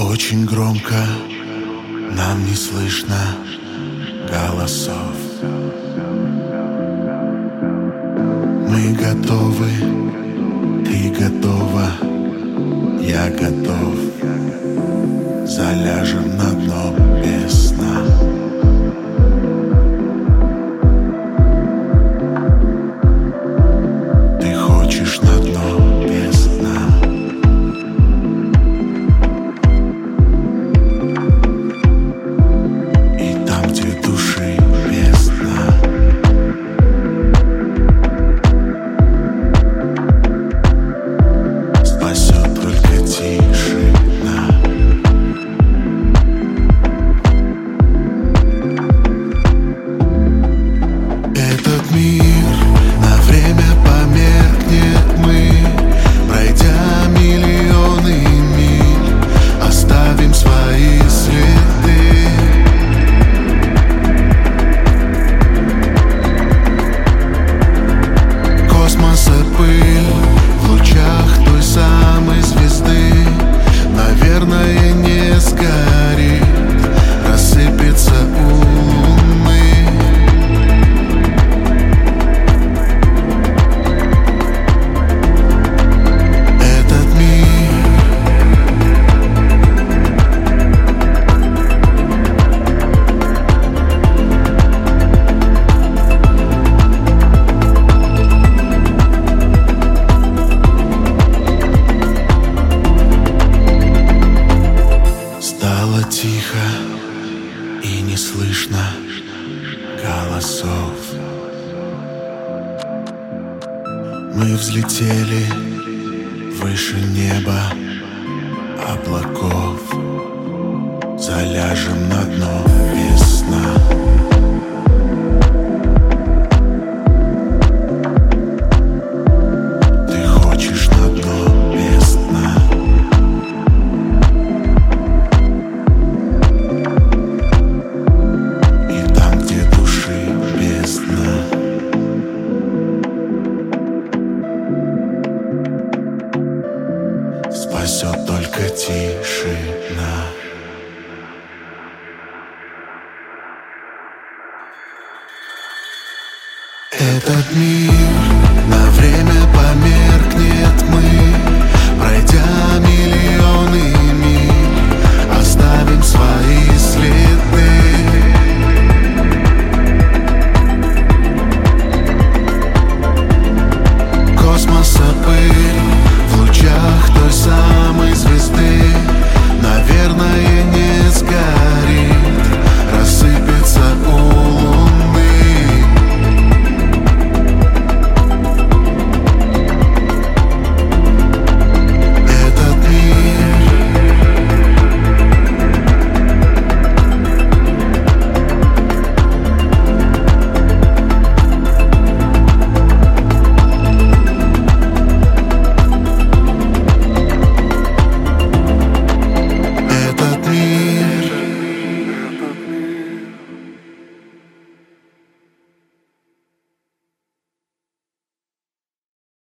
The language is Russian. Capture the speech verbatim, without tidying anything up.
Очень громко, нам не слышно голосов. Мы готовы, ты готова, я готов. Заляжем на дно без сна. Ты хочешь на дно без дна. И там, где души без дна. Спасет только тишина. Этот мир на время померкнет, мы, пройдя миллионы миль, оставим свои следы. Космоса пыль в лучах той самой звезды, наверное, не сгорит, рассыпется у луны. Этот мир стало тихо и не слышно голосов. Мы взлетели выше неба облаков. Заляжем на дно без сна. Ты хочешь на дно без дна. И там, где души без дна. Спасет только тишина. Этот мир